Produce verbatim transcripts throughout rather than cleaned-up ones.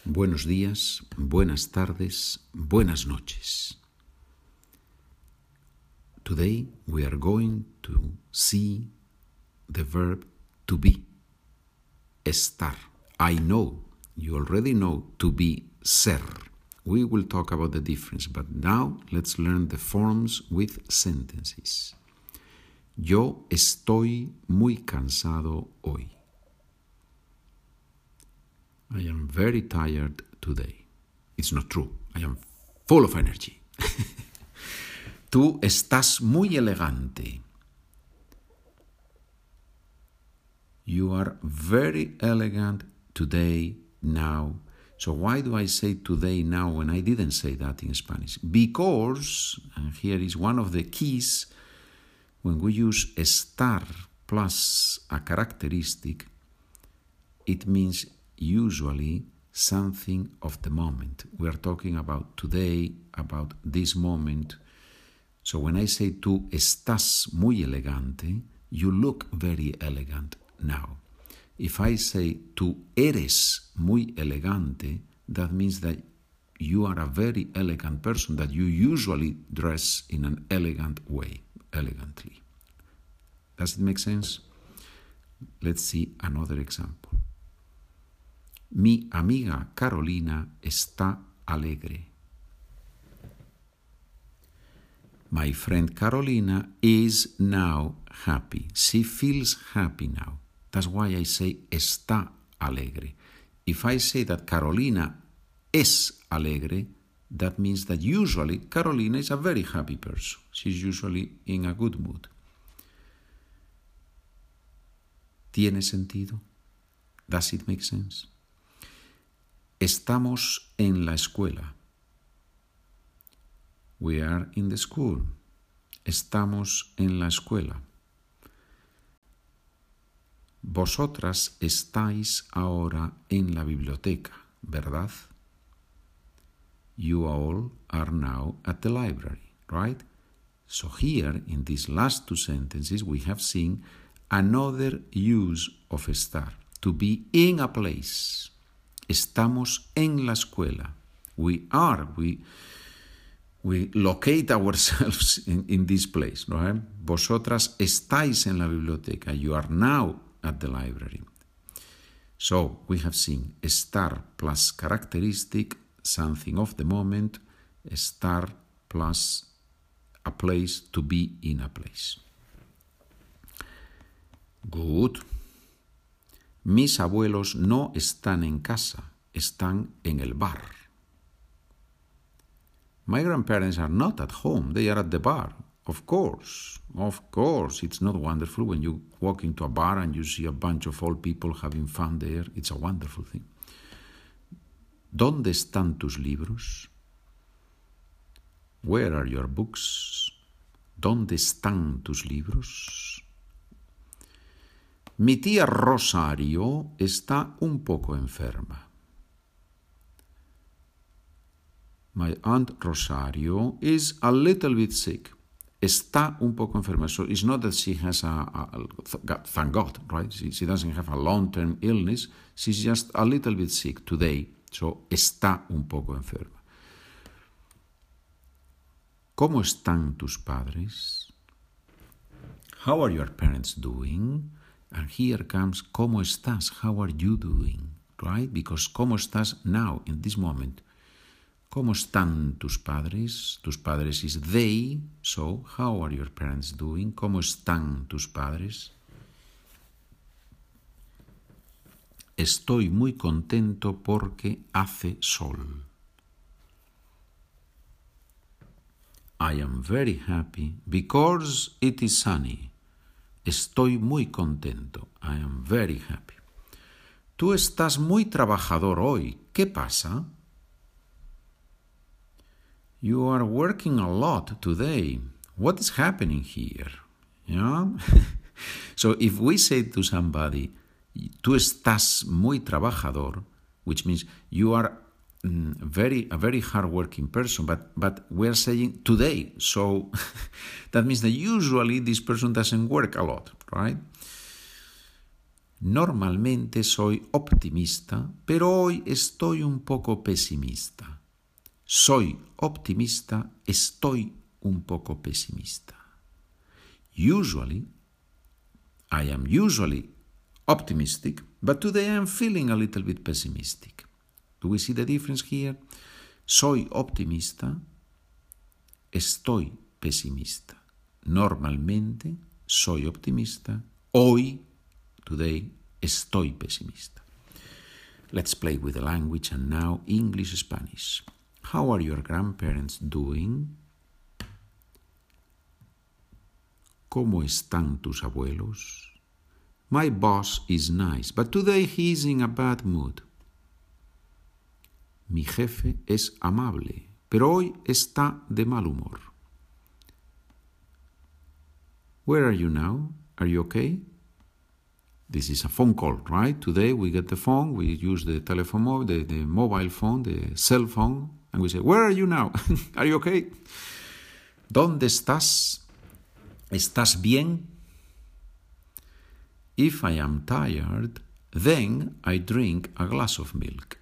Buenos días, buenas tardes, buenas noches. Today we are going to see the verb to be, estar. I know, you already know to be, ser. We will talk about the difference, but now let's learn the forms with sentences. Yo estoy muy cansado hoy. I am very tired today. It's not true. I am full of energy. Tú estás muy elegante. You are very elegant today, now. So why do I say today, now, when I didn't say that in Spanish? Because, and here is one of the keys, when we use estar plus a characteristic, it means usually something of the moment. We are talking about today, about this moment. So when I say tú estás muy elegante, you look very elegant now. If I say tú eres muy elegante, that means that you are a very elegant person, that you usually dress in an elegant way, elegantly. Does it make sense? Let's see another example. Mi amiga Carolina está alegre. My friend Carolina is now happy. She feels happy now. That's why I say está alegre. If I say that Carolina es alegre, that means that usually Carolina is a very happy person. She's usually in a good mood. ¿Tiene sentido? Does it make sense? Estamos en la escuela. We are in the school. Estamos en la escuela. Vosotras estáis ahora en la biblioteca, ¿verdad? You all are now at the library, right? So here, in these last two sentences, we have seen another use of estar, to be in a place. Estamos en la escuela. We are, we, we locate ourselves in, in this place, right? Vosotras estáis en la biblioteca. You are now at the library. So we have seen estar plus characteristic, something of the moment, estar plus a place, to be in a place. Good. Mis abuelos no están en casa, están en el bar. My grandparents are not at home, they are at the bar. Of course, of course, it's not wonderful when you walk into a bar and you see a bunch of old people having fun there. It's a wonderful thing. ¿Dónde están tus libros? Where are your books? ¿Dónde están tus libros? Mi tía Rosario está un poco enferma. My aunt Rosario is a little bit sick. Está un poco enferma. So it's not that she has a, a, a thank God, right? She, she doesn't have a long-term illness. She's just a little bit sick today. So está un poco enferma. ¿Cómo están tus padres? How are your parents doing? And here comes, ¿cómo estás? How are you doing? Right? Because ¿cómo estás now, in this moment? ¿Cómo están tus padres? Tus padres is they. So, how are your parents doing? ¿Cómo están tus padres? Estoy muy contento porque hace sol. I am very happy because it is sunny. Estoy muy contento. I am very happy. Tú estás muy trabajador hoy. ¿Qué pasa? You are working a lot today. What is happening here? Yeah? So if we say to somebody, tú estás muy trabajador, which means you are mm, very a very hard-working person, but, but we're saying today. So that means that usually this person doesn't work a lot, right? Normalmente soy optimista, pero hoy estoy un poco pesimista. Soy optimista, estoy un poco pesimista. Usually, I am usually optimistic, but today I am feeling a little bit pessimistic. Do we see the difference here? Soy optimista, estoy pesimista. Normalmente soy optimista, hoy, today, estoy pesimista. Let's play with the language and now English-Spanish. How are your grandparents doing? ¿Cómo están tus abuelos? My boss is nice, but today he is in a bad mood. Mi jefe es amable, pero hoy está de mal humor. Where are you now? Are you okay? This is a phone call, right? Today we get the phone, we use the telephone, the, the mobile phone, the cell phone, and we say, where are you now? Are you okay? ¿Dónde estás? ¿Estás bien? If I am tired, then I drink a glass of milk.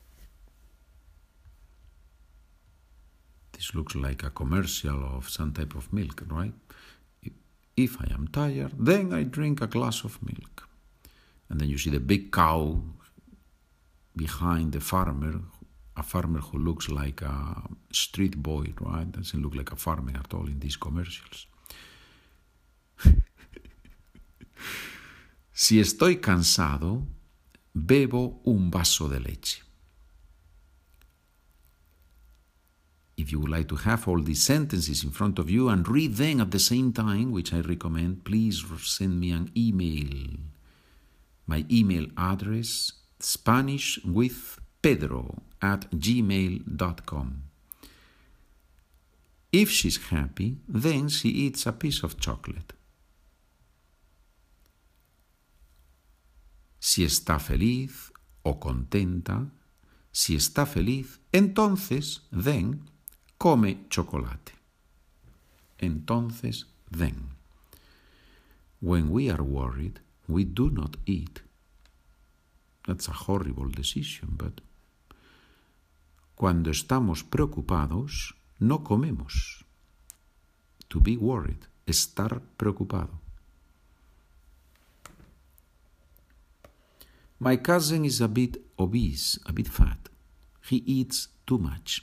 This looks like a commercial of some type of milk, right? If I am tired, then I drink a glass of milk. And then you see the big cow behind the farmer, a farmer who looks like a street boy, right? Doesn't look like a farmer at all in these commercials. Si estoy cansado, bebo un vaso de leche. If you would like to have all these sentences in front of you and read them at the same time, which I recommend, please send me an email. My email address, SpanishWithPedro at gmail dot com. If she's happy, then she eats a piece of chocolate. Si está feliz o contenta, si está feliz, entonces, then, come chocolate. Entonces, then. When we are worried, we do not eat. That's a horrible decision, but cuando estamos preocupados, no comemos. To be worried, estar preocupado. My cousin is a bit obese, a bit fat. He eats too much.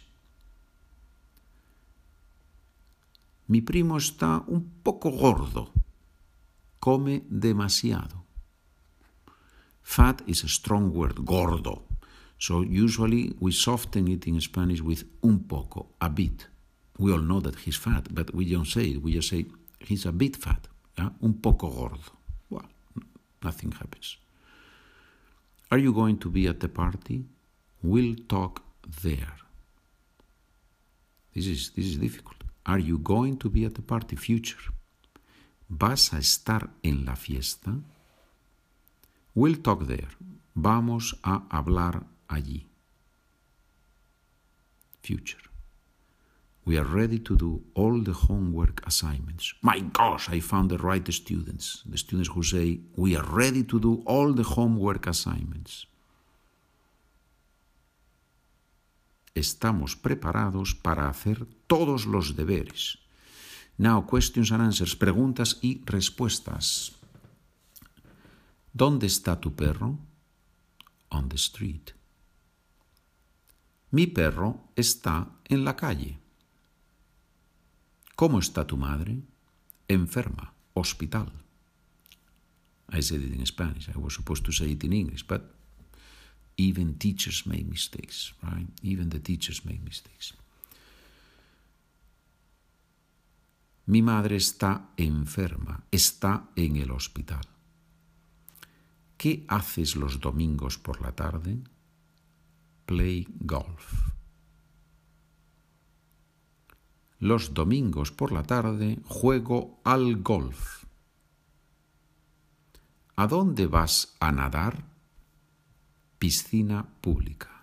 Mi primo está un poco gordo. Come demasiado. Fat is a strong word, gordo. So usually we soften it in Spanish with un poco, a bit. We all know that he's fat, but we don't say it. We just say he's a bit fat. Yeah? Un poco gordo. Well, nothing happens. Are you going to be at the party? We'll talk there. This is, this is difficult. Are you going to be at the party? Future. ¿Vas a estar en la fiesta? We'll talk there. Vamos a hablar allí. Future. We are ready to do all the homework assignments. My gosh, I found the right students. The students who say, we are ready to do all the homework assignments. Estamos preparados para hacer todos los deberes. Now, questions and answers, preguntas y respuestas. ¿Dónde está tu perro? On the street. Mi perro está en la calle. ¿Cómo está tu madre? Enferma, hospital. I said it in Spanish. I was supposed to say it in English, but even teachers make mistakes, right? Even the teachers make mistakes. Mi madre está enferma, está en el hospital. ¿Qué haces los domingos por la tarde? Play golf. Los domingos por la tarde juego al golf. ¿A dónde vas a nadar? Piscina pública.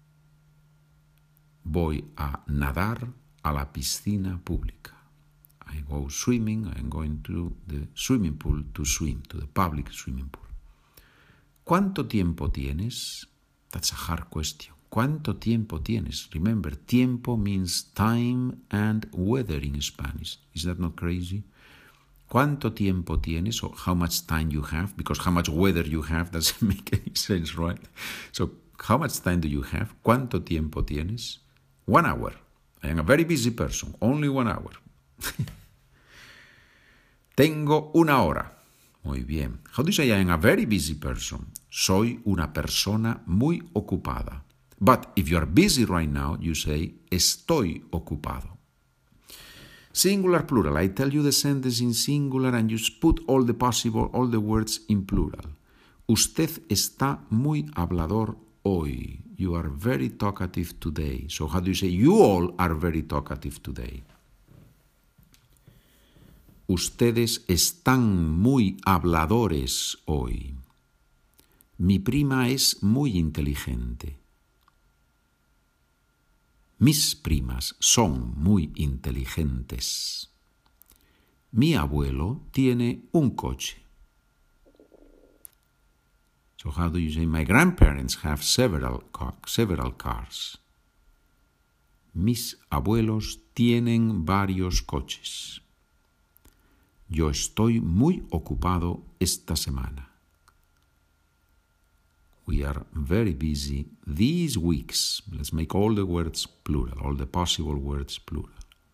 Voy a nadar a la piscina pública. I go swimming. I'm going to the swimming pool to swim, to the public swimming pool. ¿Cuánto tiempo tienes? That's a hard question. ¿Cuánto tiempo tienes? Remember, tiempo means time and weather in Spanish. Is that not crazy? ¿Cuánto tiempo tienes? Or how much time you have? Because how much weather you have doesn't make any sense, right? So, how much time do you have? ¿Cuánto tiempo tienes? One hour. I am a very busy person. Only one hour. Tengo una hora. Muy bien. How do you say I am a very busy person? Soy una persona muy ocupada. But if you are busy right now, you say estoy ocupado. Singular, plural. I tell you the sentence in singular and you put all the possible, all the words in plural. Usted está muy hablador hoy. You are very talkative today. So how do you say you all are very talkative today? Ustedes están muy habladores hoy. Mi prima es muy inteligente. Mis primas son muy inteligentes. Mi abuelo tiene un coche. So how do you say my grandparents have several, car- several cars? Mis abuelos tienen varios coches. Yo estoy muy ocupado esta semana. We are very busy these weeks. Let's make all the words plural, all the possible words plural.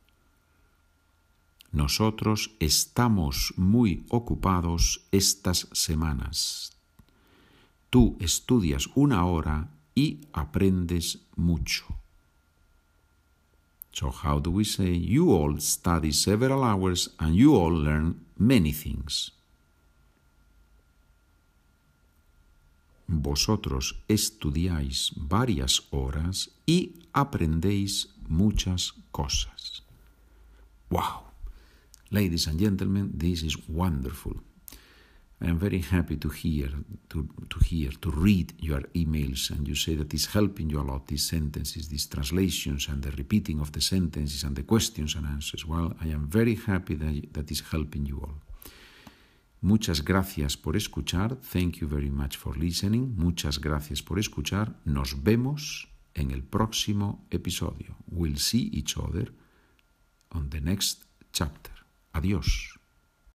Nosotros estamos muy ocupados estas semanas. Tú estudias una hora y aprendes mucho. So how do we say you all study several hours and you all learn many things? Vosotros estudiáis varias horas y aprendéis muchas cosas. Wow! Ladies and gentlemen, this is wonderful. I am very happy to hear, to, to hear, to read your emails, and you say that it's helping you a lot, these sentences, these translations, and the repeating of the sentences, and the questions and answers. Well, I am very happy that, that is helping you all. Muchas gracias por escuchar. Thank you very much for listening. Muchas gracias por escuchar. Nos vemos en el próximo episodio. We'll see each other on the next chapter. Adiós.